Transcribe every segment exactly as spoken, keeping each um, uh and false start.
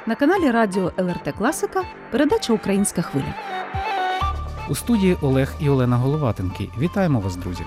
На каналі Радіо ел ер те Класика передача «Українська хвиля». У студії Олег і Олена Головатенки. Вітаємо вас, друзі!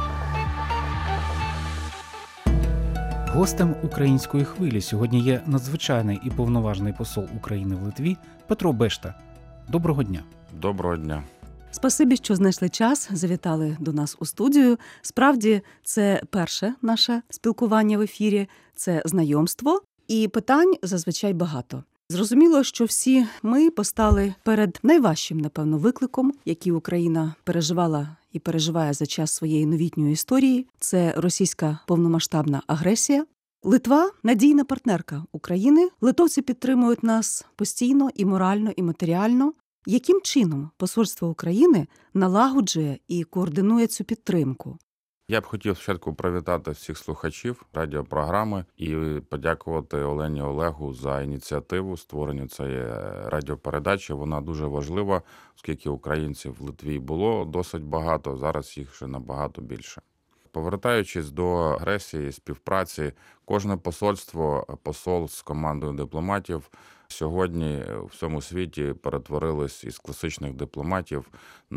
Гостем «Української хвилі» сьогодні є надзвичайний і повноважний посол України в Литві Петро Бешта. Доброго дня! Доброго дня! Спасибі, що знайшли час, завітали до нас у студію. Справді, це перше наше спілкування в ефірі, це знайомство, і питань зазвичай багато. Зрозуміло, що всі ми постали перед найважчим, напевно, викликом, який Україна переживала і переживає за час своєї новітньої історії. Це російська повномасштабна агресія. Литва – надійна партнерка України. Литовці підтримують нас постійно і морально, і матеріально. Яким чином посольство України налагоджує і координує цю підтримку? Я б хотів спочатку привітати всіх слухачів радіопрограми і подякувати Олені Олегу за ініціативу створення цієї радіопередачі. Вона дуже важлива, оскільки українців в Литві було досить багато, зараз їх ще набагато більше. Повертаючись до агресії, співпраці, кожне посольство, посол з командою дипломатів сьогодні в всьому світі перетворились із класичних дипломатів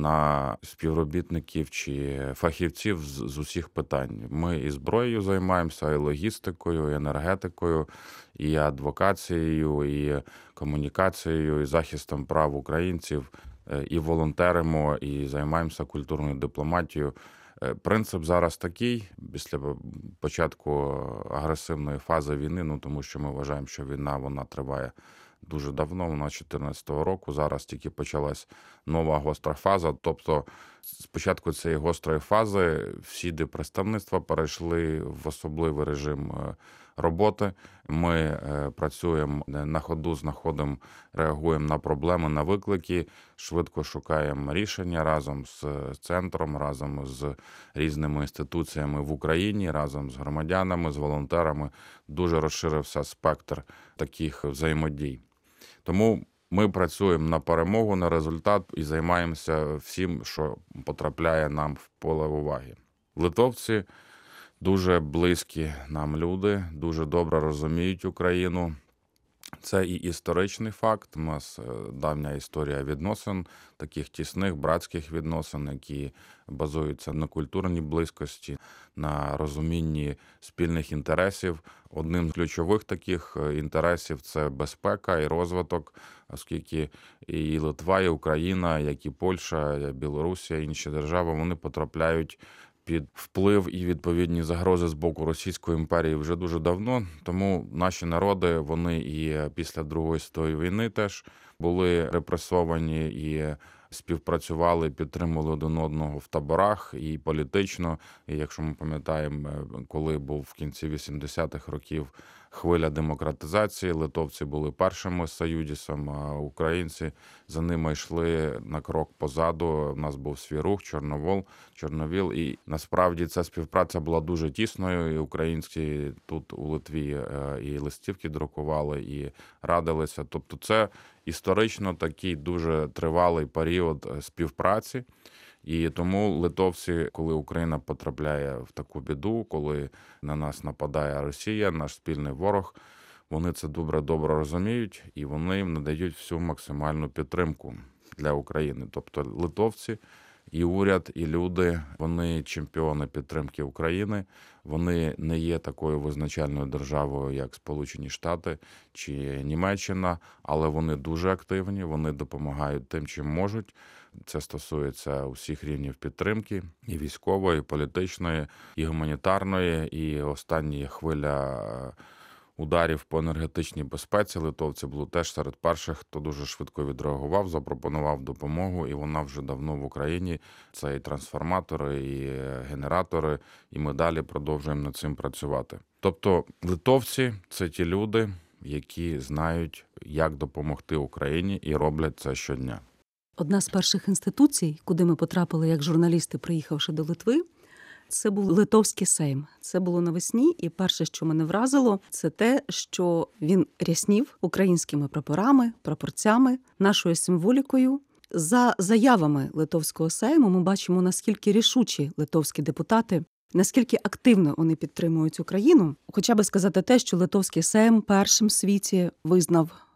на співробітників чи фахівців з, з усіх питань. Ми і зброєю займаємося, і логістикою, і енергетикою, і адвокацією, і комунікацією, і захистом прав українців, і волонтеримо, і займаємося культурною дипломатією. Принцип зараз такий, після початку агресивної фази війни, ну тому що ми вважаємо, що війна вона триває дуже давно, вона з чотирнадцятого року, зараз тільки почалась нова гостра фаза. Тобто з початку цієї гострої фази всі диппредставництва перейшли в особливий режим роботи. Ми працюємо на ходу, знаходимо, реагуємо на проблеми, на виклики, швидко шукаємо рішення разом з центром, разом з різними інституціями в Україні, разом з громадянами, з волонтерами. Дуже розширився спектр таких взаємодій. Тому ми працюємо на перемогу, на результат і займаємося всім, що потрапляє нам в поле уваги. Литовці дуже близькі нам люди, дуже добре розуміють Україну. Це і історичний факт. У нас давня історія відносин, таких тісних братських відносин, які базуються на культурній близькості, на розумінні спільних інтересів. Одним з ключових таких інтересів – це безпека і розвиток, оскільки і Литва, і Україна, як і Польща, і Білорусія, і інші держави, вони потрапляють під вплив і відповідні загрози з боку Російської імперії вже дуже давно. Тому наші народи, вони і після Другої світової війни теж були репресовані і співпрацювали, підтримували один одного в таборах і політично. І якщо ми пам'ятаємо, коли був в кінці вісімдесятих років хвиля демократизації, литовці були першими союзом, а українці за ними йшли на крок позаду. У нас був свій рух Чорновол, Чорновіл, і насправді ця співпраця була дуже тісною. І українські тут у Литві і листівки друкували, і радилися. Тобто це історично такий дуже тривалий період співпраці. І тому литовці, коли Україна потрапляє в таку біду, коли на нас нападає Росія, наш спільний ворог, вони це добре-добре розуміють і вони їм надають всю максимальну підтримку для України. Тобто литовці і уряд, і люди, вони чемпіони підтримки України, вони не є такою визначальною державою, як Сполучені Штати чи Німеччина, але вони дуже активні, вони допомагають тим, чим можуть. Це стосується усіх рівнів підтримки, і військової, і політичної, і гуманітарної, і остання хвиля ударів по енергетичній безпеці. Литовці були теж серед перших, хто дуже швидко відреагував, запропонував допомогу, і вона вже давно в Україні. Це і трансформатори, і генератори, і ми далі продовжуємо над цим працювати. Тобто литовці – це ті люди, які знають, як допомогти Україні, і роблять це щодня. Одна з перших інституцій, куди ми потрапили як журналісти, приїхавши до Литви, це був Литовський Сейм. Це було навесні, і перше, що мене вразило, це те, що він ряснів українськими прапорами, прапорцями, нашою символікою. За заявами Литовського Сейму ми бачимо, наскільки рішучі литовські депутати, наскільки активно вони підтримують Україну. Хоча би сказати те, що Литовський Сейм першим в світі визнав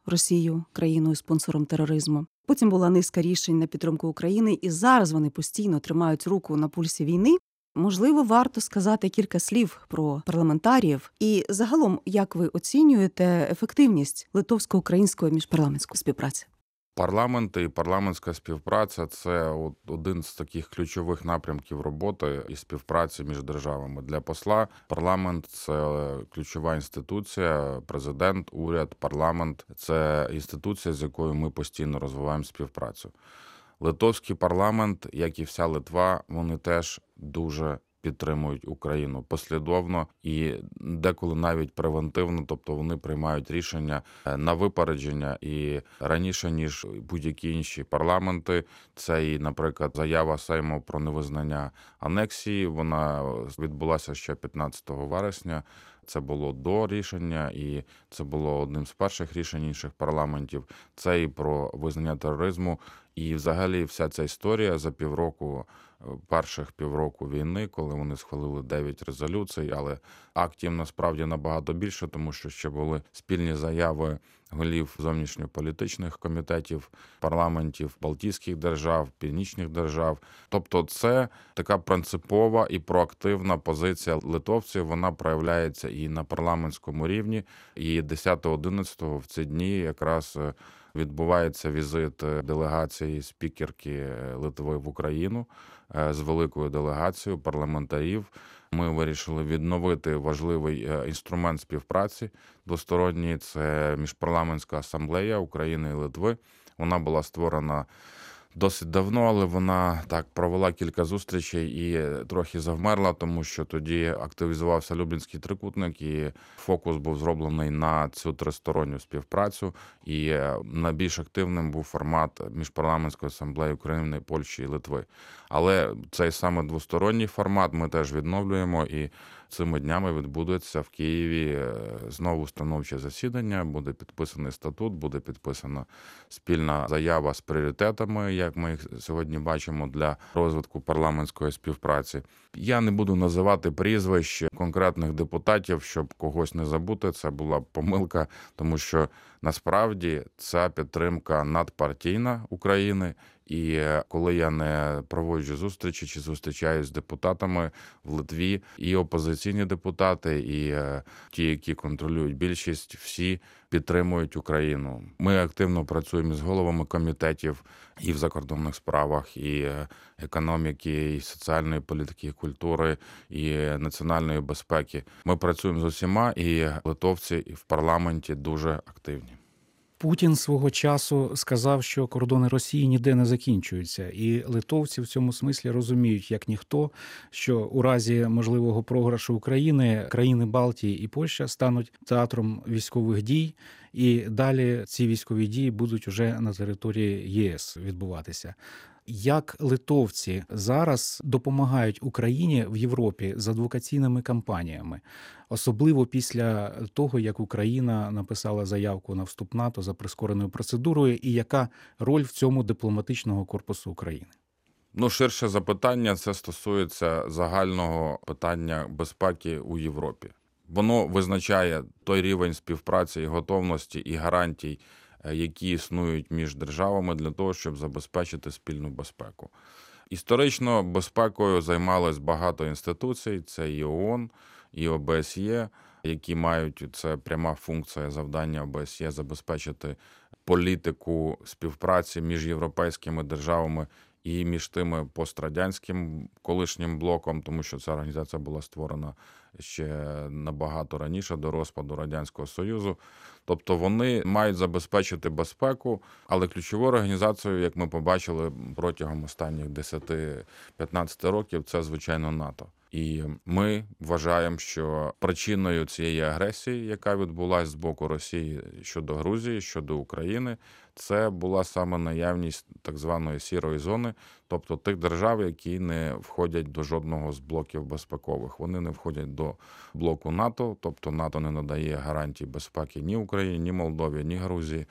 Росію країною спонсором тероризму. Потім була низка рішень на підтримку України, і зараз вони постійно тримають руку на пульсі війни. Можливо, варто сказати кілька слів про парламентаріїв і загалом, як ви оцінюєте ефективність литовсько-української міжпарламентської співпраці? Парламенти і парламентська співпраця – це от один з таких ключових напрямків роботи і співпраці між державами. Для посла парламент – це ключова інституція, президент, уряд, парламент – це інституція, з якою ми постійно розвиваємо співпрацю. Литовський парламент, як і вся Литва, вони теж дуже підтримують Україну послідовно і деколи навіть превентивно, тобто вони приймають рішення на випередження і раніше, ніж будь-які інші парламенти. Це і, наприклад, заява Сейму про невизнання анексії, вона відбулася ще п'ятнадцятого вересня. Це було до рішення, і це було одним з перших рішень інших парламентів. Це і про визнання тероризму. І взагалі вся ця історія за півроку, перших півроку війни, коли вони схвалили дев'ять резолюцій, але актів насправді набагато більше, тому що ще були спільні заяви голів зовнішньополітичних комітетів, парламентів Балтійських держав, Північних держав. Тобто це така принципова і проактивна позиція литовців, вона проявляється і на парламентському рівні. І десятого-одинадцятого в ці дні якраз відбувається візит делегації спікерки Литви в Україну з великою делегацією парламентарів. Ми вирішили відновити важливий інструмент співпраці двосторонній. Це Міжпарламентська асамблея України і Литви. Вона була створена досить давно, але вона так провела кілька зустрічей і трохи завмерла, тому що тоді активізувався Люблінський трикутник, і фокус був зроблений на цю тристоронню співпрацю, і найбільш активним був формат Міжпарламентської асамблеї України, Польщі і Литви. Але цей саме двосторонній формат ми теж відновлюємо, і цими днями відбудеться в Києві знову установче засідання, буде підписаний статут, буде підписана спільна заява з пріоритетами, як ми їх сьогодні бачимо, для розвитку парламентської співпраці. Я не буду називати прізвищ конкретних депутатів, щоб когось не забути, це була помилка, тому що насправді ця підтримка надпартійна України. І коли я не проводжу зустрічі чи зустрічаюсь з депутатами в Литві, і опозиційні депутати, і ті, які контролюють більшість, всі підтримують Україну. Ми активно працюємо з головами комітетів і в закордонних справах, і економіки, і соціальної політики, і культури, і національної безпеки. Ми працюємо з усіма, і литовці в парламенті дуже активні. Путін свого часу сказав, що кордони Росії ніде не закінчуються. І литовці в цьому смислі розуміють, як ніхто, що у разі можливого програшу України країни Балтії і Польща стануть театром військових дій, і далі ці військові дії будуть уже на території ЄС відбуватися. Як литовці зараз допомагають Україні в Європі з адвокаційними кампаніями, особливо після того, як Україна написала заявку на вступ в НАТО за прискореною процедурою, і яка роль в цьому дипломатичного корпусу України? Ну, ширше запитання, це стосується загального питання безпеки у Європі. Воно визначає той рівень співпраці і готовності, і гарантій, які існують між державами для того, щоб забезпечити спільну безпеку. Історично безпекою займалось багато інституцій, це і ООН, і О Б С Є, які мають, це пряма функція завдання О Б С Є забезпечити політику співпраці між європейськими державами і між тими пострадянським колишнім блоком, тому що ця організація була створена ще набагато раніше, до розпаду Радянського Союзу. Тобто вони мають забезпечити безпеку, але ключовою організацією, як ми побачили протягом останніх десять-п'ятнадцять років, це, звичайно, НАТО. І ми вважаємо, що причиною цієї агресії, яка відбулася з боку Росії щодо Грузії, щодо України, це була саме наявність так званої сірої зони, тобто тих держав, які не входять до жодного з блоків безпекових. Вони не входять до блоку НАТО, тобто НАТО не надає гарантій безпеки ні Україні, ні Молдові, ні Грузії.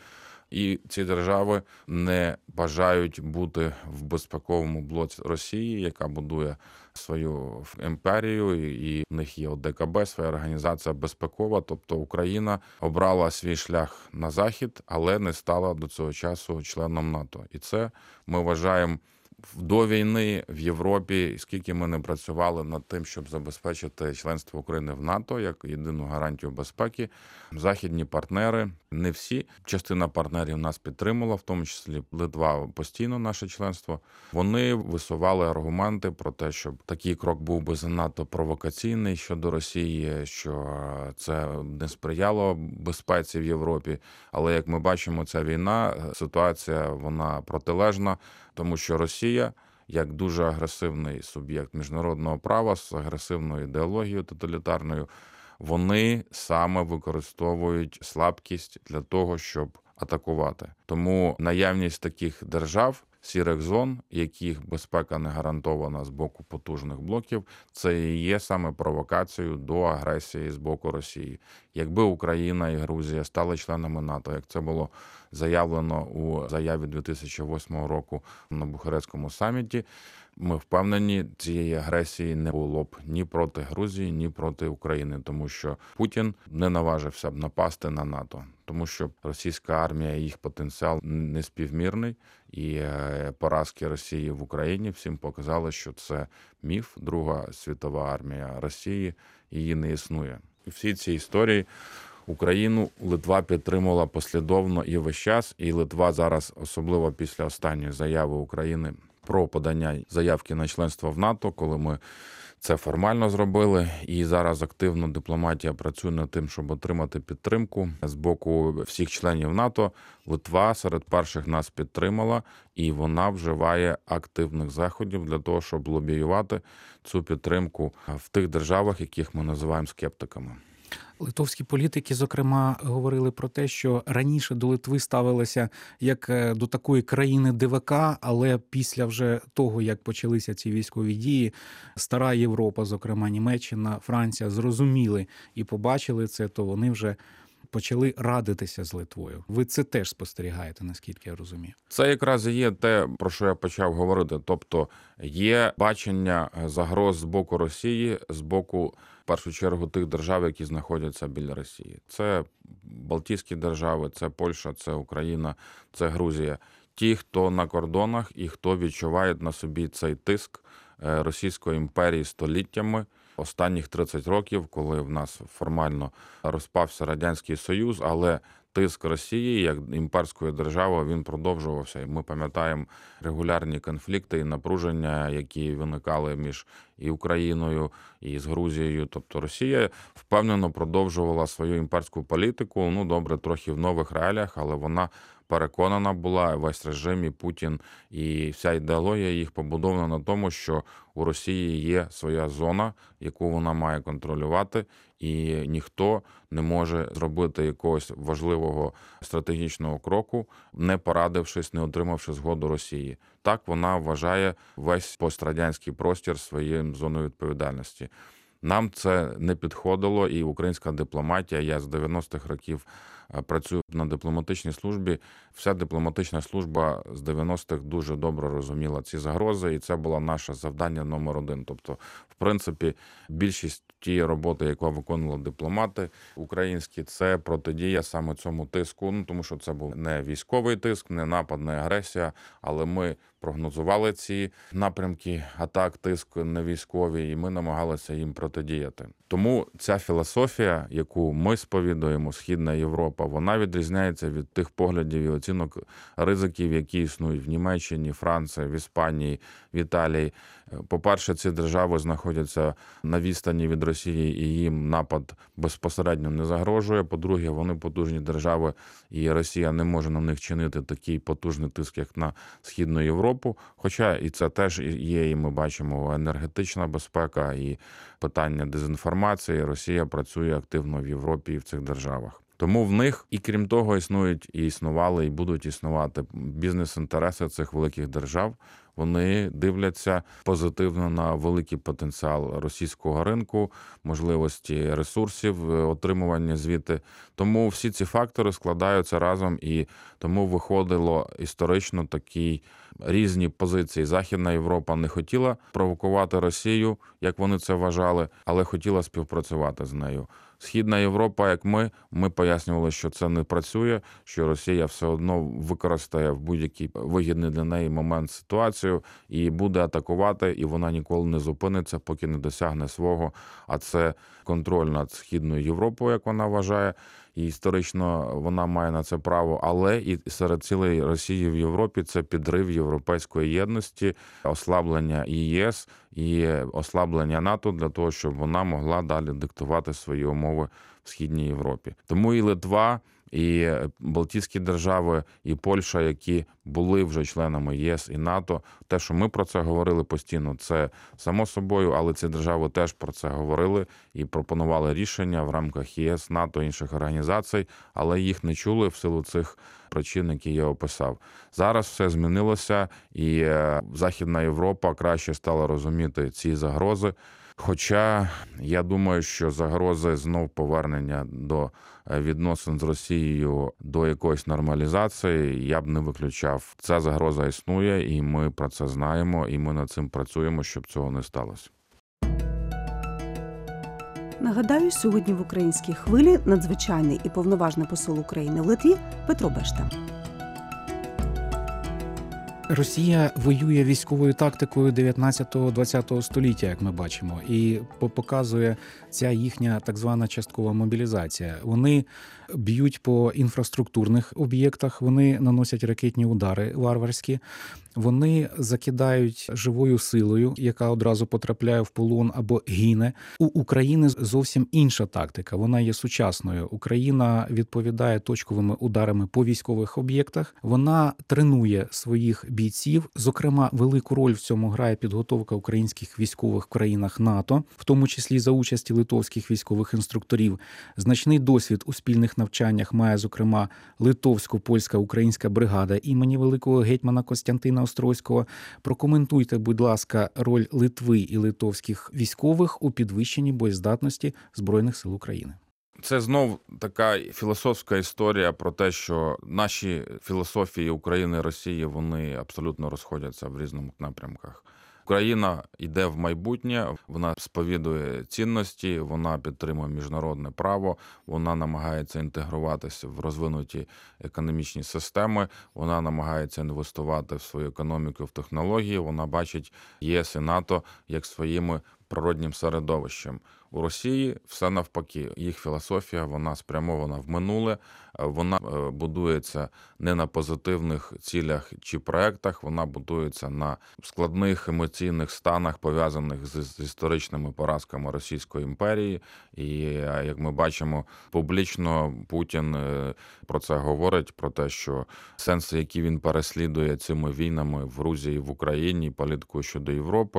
І ці держави не бажають бути в безпековому блоці Росії, яка будує свою імперію, і в них є ОДКБ, своя організація безпекова. Тобто Україна обрала свій шлях на захід, але не стала до цього часу членом НАТО. І це ми вважаємо до війни в Європі, скільки ми не працювали над тим, щоб забезпечити членство України в НАТО як єдину гарантію безпеки. Західні партнери, не всі, частина партнерів нас підтримала, в тому числі Литва постійно наше членство. Вони висували аргументи про те, щоб такий крок був би занадто провокаційний щодо Росії, що це не сприяло безпеці в Європі. Але як ми бачимо, ця війна, ситуація вона протилежна, тому що Росія, як дуже агресивний суб'єкт міжнародного права з агресивною ідеологією тоталітарною, вони саме використовують слабкість для того, щоб атакувати. Тому наявність таких держав, сірих зон, яких безпека не гарантована з боку потужних блоків, це і є саме провокацією до агресії з боку Росії. Якби Україна і Грузія стали членами НАТО, як це було заявлено у заяві дві тисячі восьмого року на Бухарестському саміті, ми впевнені, цієї агресії не було б ні проти Грузії, ні проти України, тому що Путін не наважився б напасти на НАТО, тому що російська армія і їх потенціал неспівмірний, і поразки Росії в Україні всім показали, що це міф. Друга світова армія Росії, її не існує. У всій цій історії Україну Литва підтримувала послідовно і весь час, і Литва зараз, особливо після останньої заяви України про подання заявки на членство в НАТО, коли ми це формально зробили, і зараз активно дипломатія працює над тим, щоб отримати підтримку з боку всіх членів НАТО. Литва серед перших нас підтримала, і вона вживає активних заходів для того, щоб лобіювати цю підтримку в тих державах, яких ми називаємо скептиками. Литовські політики, зокрема, говорили про те, що раніше до Литви ставилися як до такої країни ДВК, але після вже того, як почалися ці військові дії, стара Європа, зокрема Німеччина, Франція, зрозуміли і побачили це, то вони вже почали радитися з Литвою. Ви це теж спостерігаєте, наскільки я розумію? Це якраз і є те, про що я почав говорити. Тобто є бачення загроз з боку Росії, з боку, в першу чергу, тих держав, які знаходяться біля Росії. Це Балтійські держави, це Польща, це Україна, це Грузія. Ті, хто на кордонах і хто відчуває на собі цей тиск Російської імперії століттями, останніх тридцять років, коли в нас формально розпався Радянський Союз, але тиск Росії як імперської держави, він продовжувався. І ми пам'ятаємо регулярні конфлікти і напруження, які виникали між і Україною, і з Грузією. Тобто Росія впевнено продовжувала свою імперську політику, ну добре, трохи в нових реаліях, але вона переконана була, весь режим і Путін, і вся ідеологія їх побудована на тому, що у Росії є своя зона, яку вона має контролювати, і ніхто не може зробити якогось важливого стратегічного кроку, не порадившись, не отримавши згоду Росії. Так вона вважає весь пострадянський простір своєю зоною відповідальності. Нам це не підходило, і українська дипломатія, я з дев'яностих років працюю на дипломатичній службі, вся дипломатична служба з дев'яностих дуже добре розуміла ці загрози, і це було наше завдання номер один. Тобто, в принципі, більшість тієї роботи, яку виконували дипломати українські, це протидія саме цьому тиску, ну, тому що це був не військовий тиск, не напад, не агресія, але ми прогнозували ці напрямки атак, тиск не військові, і ми намагалися їм протидіяти. Тому ця філософія, яку ми сповідуємо, Східна Європа, вона відрізняється від тих поглядів і оцінок ризиків, які існують в Німеччині, Франції, в Іспанії, в Італії. По-перше, ці держави знаходяться на відстані від Росії, і їм напад безпосередньо не загрожує. По-друге, вони потужні держави, і Росія не може на них чинити такий потужний тиск, як на Східну Європу. Хоча і це теж є, і ми бачимо, енергетична безпека і питання дезінформації. Росія працює активно в Європі і в цих державах. Тому в них, і крім того, існують і існували, і будуть існувати бізнес-інтереси цих великих держав. Вони дивляться позитивно на великий потенціал російського ринку, можливості ресурсів, отримування звідти. Тому всі ці фактори складаються разом, і тому виходило історично такі різні позиції. Західна Європа не хотіла провокувати Росію, як вони це вважали, але хотіла співпрацювати з нею. Східна Європа, як ми, ми пояснювали, що це не працює, що Росія все одно використає в будь-який вигідний для неї момент ситуацію і буде атакувати, і вона ніколи не зупиниться, поки не досягне свого. А це контроль над Східною Європою, як вона вважає, і історично вона має на це право. Але і серед цілої Росії в Європі це підрив європейської єдності, ослаблення ЄС і ослаблення НАТО для того, щоб вона могла далі диктувати свої умови в Східній Європі. Тому і Литва, і Балтійські держави, і Польща, які були вже членами ЄС і НАТО, те, що ми про це говорили постійно, це само собою, але ці держави теж про це говорили і пропонували рішення в рамках ЄС, НАТО, інших організацій, але їх не чули в силу цих причин, які я описав. Зараз все змінилося, і Західна Європа краще стала розуміти ці загрози. Хоча я думаю, що загрози знов повернення до відносин з Росією до якоїсь нормалізації я б не виключав. Ця загроза існує, і ми про це знаємо, і ми над цим працюємо, щоб цього не сталося. Нагадаю, сьогодні в українській хвилі надзвичайний і повноважний посол України в Литві Петро Бешта. Росія воює військовою тактикою дев'ятнадцятого-двадцятого століття, як ми бачимо, і показує ця їхня так звана часткова мобілізація. Вони б'ють по інфраструктурних об'єктах, вони наносять ракетні удари варварські, вони закидають живою силою, яка одразу потрапляє в полон або гине. У України зовсім інша тактика, вона є сучасною. Україна відповідає точковими ударами по військових об'єктах, вона тренує своїх бійців, зокрема, велику роль в цьому грає підготовка українських військових в країнах НАТО, в тому числі за участі литовських військових інструкторів. Значний досвід у спільних навчаннях має, зокрема, литовсько-польська українська бригада імені великого гетьмана Костянтина Острозького. Прокоментуйте, будь ласка, роль Литви і литовських військових у підвищенні боєздатності Збройних сил України. Це знов така філософська історія про те, що наші філософії України і Росії, вони абсолютно розходяться в різних напрямках. Україна йде в майбутнє, вона сповідує цінності, вона підтримує міжнародне право, вона намагається інтегруватися в розвинуті економічні системи, вона намагається інвестувати в свою економіку, в технології, вона бачить ЄС і НАТО як своїми природнім середовищем. У Росії все навпаки. Їх філософія, вона спрямована в минуле, вона будується не на позитивних цілях чи проектах, вона будується на складних емоційних станах, пов'язаних з, з історичними поразками Російської імперії. І, як ми бачимо, публічно Путін про це говорить, про те, що сенси, які він переслідує цими війнами в Грузії, в Україні, політикою щодо Європи,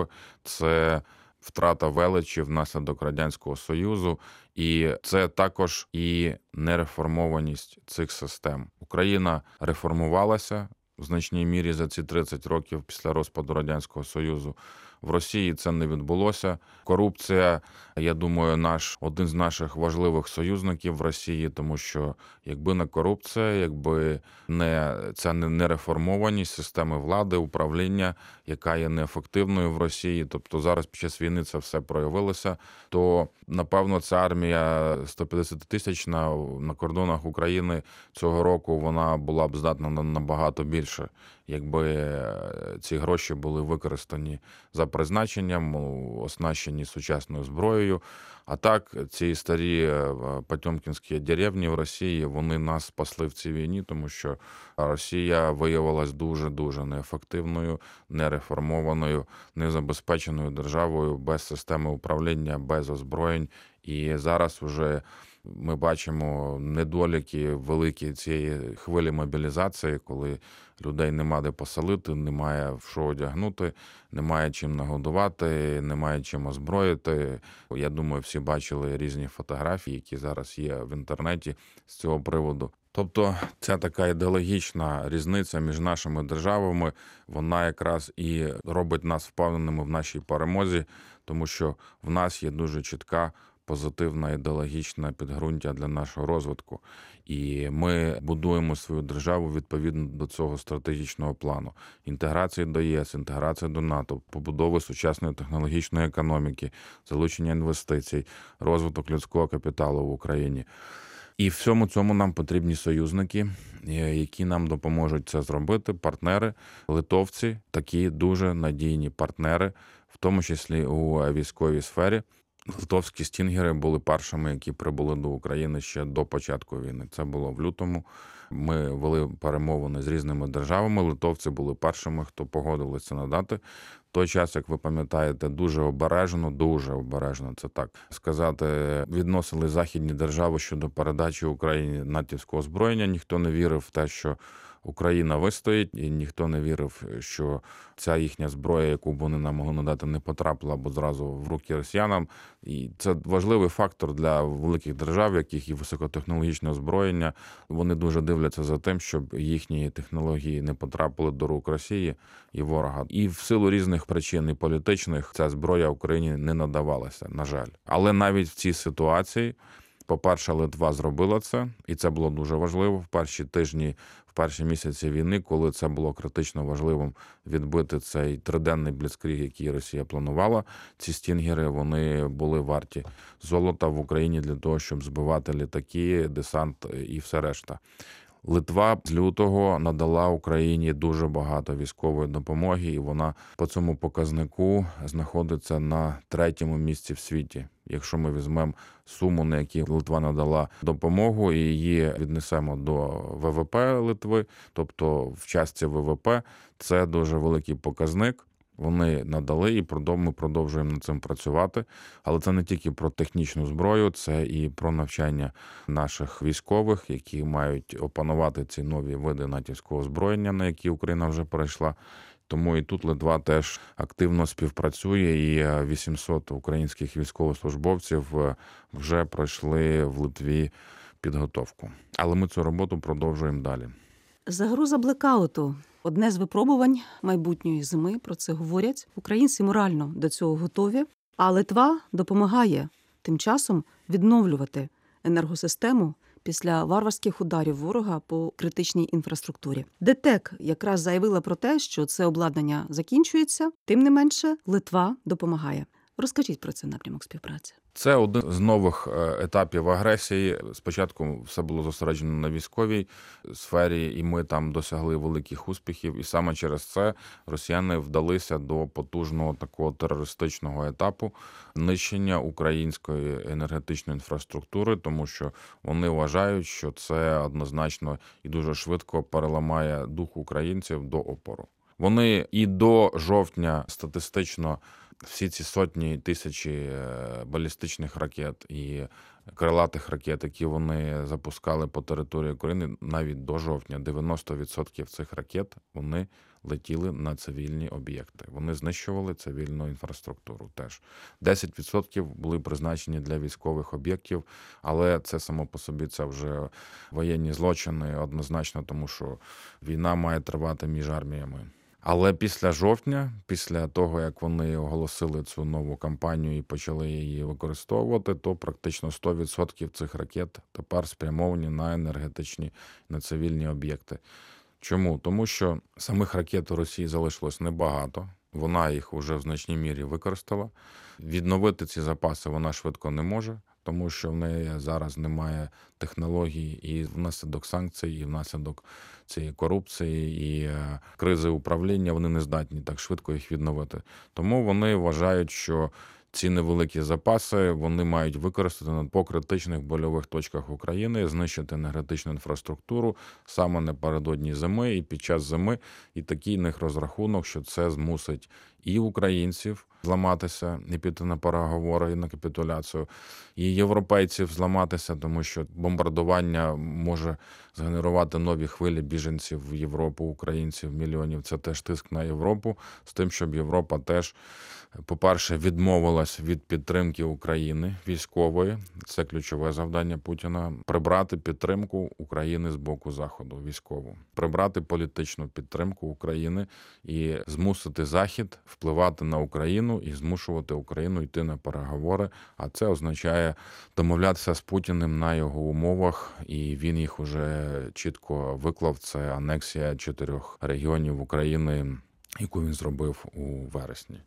це втрата величі внаслідок Радянського Союзу, і це також і нереформованість цих систем. Україна реформувалася в значній мірі за ці тридцять років після розпаду Радянського Союзу. В Росії це не відбулося. Корупція, я думаю, наш один з наших важливих союзників в Росії, тому що якби не корупція, якби не ця нереформованість системи влади, управління, яка є неефективною в Росії, тобто зараз під час війни це все проявилося, то, напевно, ця армія сто п'ятдесят тисячна на кордонах України цього року, вона була б здатна на набагато більше, якби ці гроші були використані за призначенням, оснащені сучасною зброєю. А так, ці старі потьомкінські деревні в Росії, вони нас спасли в цій війні, тому що Росія виявилась дуже-дуже неефективною, нереформованою, незабезпеченою державою, без системи управління, без озброєнь. І зараз вже Ми бачимо недоліки великі цієї хвилі мобілізації, коли людей нема де поселити, немає в що одягнути, немає чим нагодувати, немає чим озброїти. Я думаю, всі бачили різні фотографії, які зараз є в інтернеті з цього приводу. Тобто ця така ідеологічна різниця між нашими державами, вона якраз і робить нас впевненими в нашій перемозі, тому що в нас є дуже чітка позитивна ідеологічна підґрунтя для нашого розвитку. І ми будуємо свою державу відповідно до цього стратегічного плану. Інтеграції до ЄС, інтеграції до НАТО, побудови сучасної технологічної економіки, залучення інвестицій, розвиток людського капіталу в Україні. І всьому цьому нам потрібні союзники, які нам допоможуть це зробити, партнери, литовці, такі дуже надійні партнери, в тому числі у військовій сфері. Литовські стінгери були першими, які прибули до України ще до початку війни. Це було в лютому. Ми вели перемовини з різними державами. Литовці були першими, хто погодилися надати. В той час, як ви пам'ятаєте, дуже обережно, дуже обережно, це так сказати, відносили західні держави щодо передачі Україні натівського озброєння. Ніхто не вірив в те, що Україна вистоїть, і ніхто не вірив, що ця їхня зброя, яку б вони нам могли надати, не потрапила або зразу в руки росіянам. І це важливий фактор для великих держав, яких є високотехнологічне озброєння. Вони дуже дивляться за тим, щоб їхні технології не потрапили до рук Росії і ворога. І в силу різних причин і політичних ця зброя Україні не надавалася, на жаль. Але навіть в цій ситуації, по-перше, Литва зробила це, і це було дуже важливо в перші тижні, в перші місяці війни, коли це було критично важливим відбити цей триденний бліцкріг, який Росія планувала. Ці стінгери, вони були варті золота в Україні для того, щоб збивати літаки, десант і все решта. Литва з лютого надала Україні дуже багато військової допомоги, і вона по цьому показнику знаходиться на третьому місці в світі. Якщо ми візьмемо суму, на якій Литва надала допомогу, і її віднесемо до ВВП Литви, тобто в частці ВВП, це дуже великий показник. Вони надали, і ми продовжуємо над цим працювати. Але це не тільки про технічну зброю, це і про навчання наших військових, які мають опанувати ці нові види натівського озброєння, на які Україна вже перейшла. Тому і тут Литва теж активно співпрацює, і вісімсот українських військовослужбовців вже пройшли в Литві підготовку. Але ми цю роботу продовжуємо далі. Загроза блекауту – одне з випробувань майбутньої зими, про це говорять. Українці морально до цього готові, а Литва допомагає тим часом відновлювати енергосистему після варварських ударів ворога по критичній інфраструктурі. ДТЕК якраз заявила про те, що це обладнання закінчується, тим не менше Литва допомагає. Розкажіть про цей напрямок співпраці. Це один з нових етапів агресії. Спочатку все було зосереджено на військовій сфері, і ми там досягли великих успіхів. І саме через це росіяни вдалися до потужного такого терористичного етапу нищення української енергетичної інфраструктури, тому що вони вважають, що це однозначно і дуже швидко переламає дух українців до опору. Вони і до жовтня статистично всі ці сотні тисячі балістичних ракет і крилатих ракет, які вони запускали по території України, навіть до жовтня, дев'яносто відсотків цих ракет, вони летіли на цивільні об'єкти. Вони знищували цивільну інфраструктуру теж. десять відсотків були призначені для військових об'єктів, але це само по собі це вже воєнні злочини однозначно, тому що війна має тривати між арміями. Але після жовтня, після того, як вони оголосили цю нову кампанію і почали її використовувати, то практично сто відсотків цих ракет тепер спрямовані на енергетичні, на цивільні об'єкти. Чому? Тому що самих ракет у Росії залишилось небагато. Вона їх вже в значній мірі використала. Відновити ці запаси вона швидко не може, тому що в неї зараз немає технологій, і внаслідок санкцій, і внаслідок цієї корупції, і кризи управління вони не здатні так швидко їх відновити. Тому вони вважають, що ці невеликі запаси вони мають використати по критичних больових точках України, знищити енергетичну інфраструктуру саме напередодні зими і під час зими. І такий них розрахунок, що це змусить і українців, зламатися і піти на переговори і на капітуляцію, і європейців зламатися, тому що бомбардування може згенерувати нові хвилі біженців в Європу, українців, мільйонів. Це теж тиск на Європу, з тим, щоб Європа теж, по-перше, відмовилась від підтримки України військової. Це ключове завдання Путіна. Прибрати підтримку України з боку Заходу військову. Прибрати політичну підтримку України і змусити Захід впливати на Україну і змушувати Україну йти на переговори. А це означає домовлятися з Путіним на його умовах, і він їх уже чітко виклав. Це анексія чотирьох регіонів України, яку він зробив у вересні.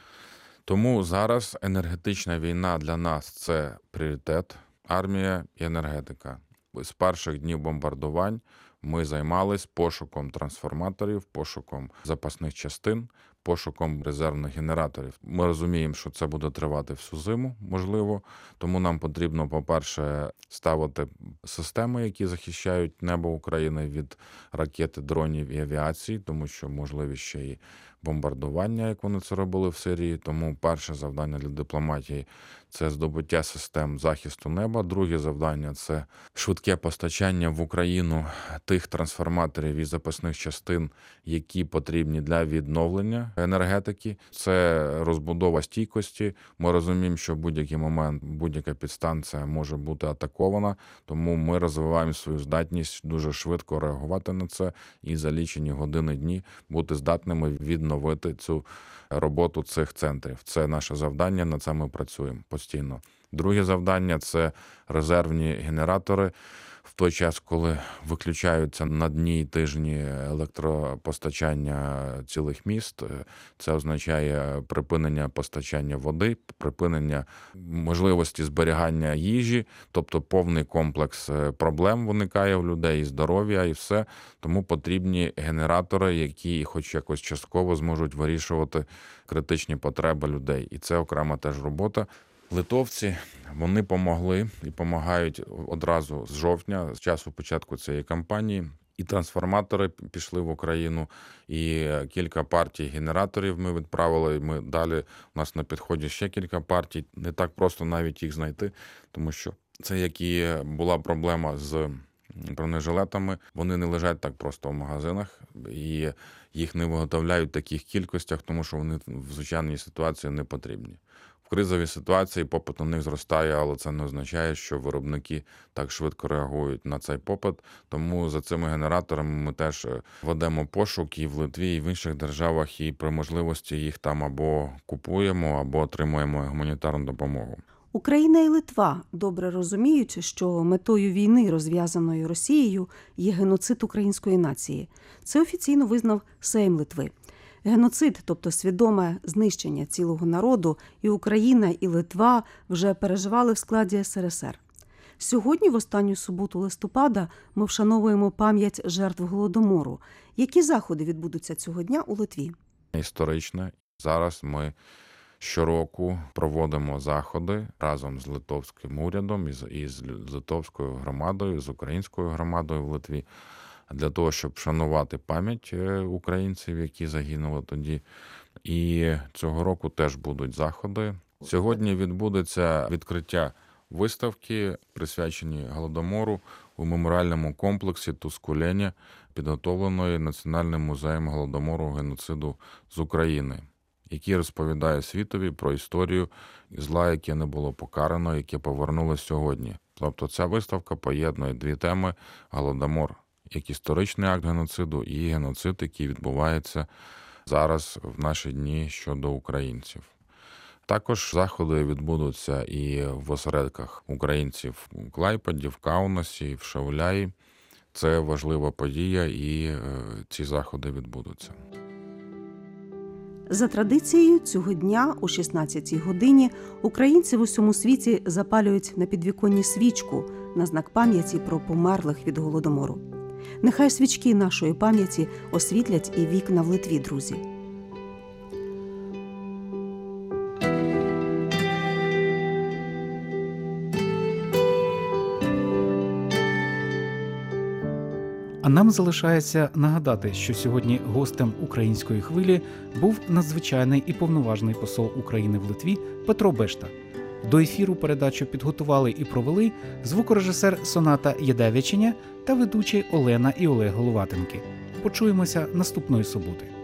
Тому зараз енергетична війна для нас – це пріоритет, армія і енергетика. З перших днів бомбардувань ми займались пошуком трансформаторів, пошуком запасних частин, пошуком резервних генераторів. Ми розуміємо, що це буде тривати всю зиму, можливо, тому нам потрібно, по-перше, ставити системи, які захищають небо України від ракет, дронів і авіації, тому що можливі ще й бомбардування, як вони це робили в Сирії. Тому перше завдання для дипломатії – це здобуття систем захисту неба. Друге завдання – це швидке постачання в Україну тих трансформаторів і запасних частин, які потрібні для відновлення енергетики. Це розбудова стійкості. Ми розуміємо, що в будь-який момент будь-яка підстанція може бути атакована, тому ми розвиваємо свою здатність дуже швидко реагувати на це і за лічені години, дні бути здатними відновити цю роботу цих центрів. Це наше завдання, на це ми працюємо постійно. Друге завдання – це резервні генератори. В той час, коли виключаються на дні й тижні електропостачання цілих міст, це означає припинення постачання води, припинення можливості зберігання їжі, тобто повний комплекс проблем виникає в людей, і здоров'я, і все. Тому потрібні генератори, які хоч якось частково зможуть вирішувати критичні потреби людей. І це окрема теж робота. Литовці, вони помогли і допомагають одразу з жовтня, з часу початку цієї кампанії. І трансформатори пішли в Україну, і кілька партій генераторів ми відправили. Ми далі, у нас на підході ще кілька партій. Не так просто навіть їх знайти, тому що це як і була проблема з бронежилетами. Вони не лежать так просто в магазинах, і їх не виготовляють в таких кількостях, тому що вони в звичайній ситуації не потрібні. В кризовій ситуації попит на них зростає, але це не означає, що виробники так швидко реагують на цей попит. Тому за цими генераторами ми теж ведемо пошук і в Литві, і в інших державах, і при можливості їх там або купуємо, або отримуємо гуманітарну допомогу. Україна і Литва добре розуміють, що метою війни, розв'язаної Росією, є геноцид української нації. Це офіційно визнав Сейм Литви. Геноцид, тобто свідоме знищення цілого народу, і Україна, і Литва вже переживали в складі ес ер ес ер. Сьогодні, в останню суботу листопада, ми вшановуємо пам'ять жертв Голодомору. Які заходи відбудуться цього дня у Литві? Історично. Зараз ми щороку проводимо заходи разом з литовським урядом і з литовською громадою, з українською громадою в Литві, для того, щоб вшанувати пам'ять українців, які загинули тоді. І цього року теж будуть заходи. Сьогодні відбудеться відкриття виставки, присвячені Голодомору у меморіальному комплексі Тускулєні, підготовленої Національним музеєм Голодомору геноциду з України, який розповідає світові про історію зла, яке не було покарано, яке повернулося сьогодні. Тобто ця виставка поєднує дві теми – Голодомор як історичний акт геноциду і геноцид, який відбувається зараз в наші дні щодо українців. Також заходи відбудуться і в осередках українців у Клайпеді, в Каунасі, в Шауляї. Це важлива подія, і ці заходи відбудуться. За традицією, цього дня о шістнадцятій годині українці в усьому світі запалюють на підвіконні свічку на знак пам'яті про померлих від Голодомору. Нехай свічки нашої пам'яті освітлять і вікна в Литві, друзі. А нам залишається нагадати, що сьогодні гостем української хвилі був надзвичайний і повноважний посол України в Литві Петро Бешта. До ефіру передачу підготували і провели звукорежисер Соната Єдевиченя та ведучі Олена і Олег Головатенки. Почуємося наступної суботи.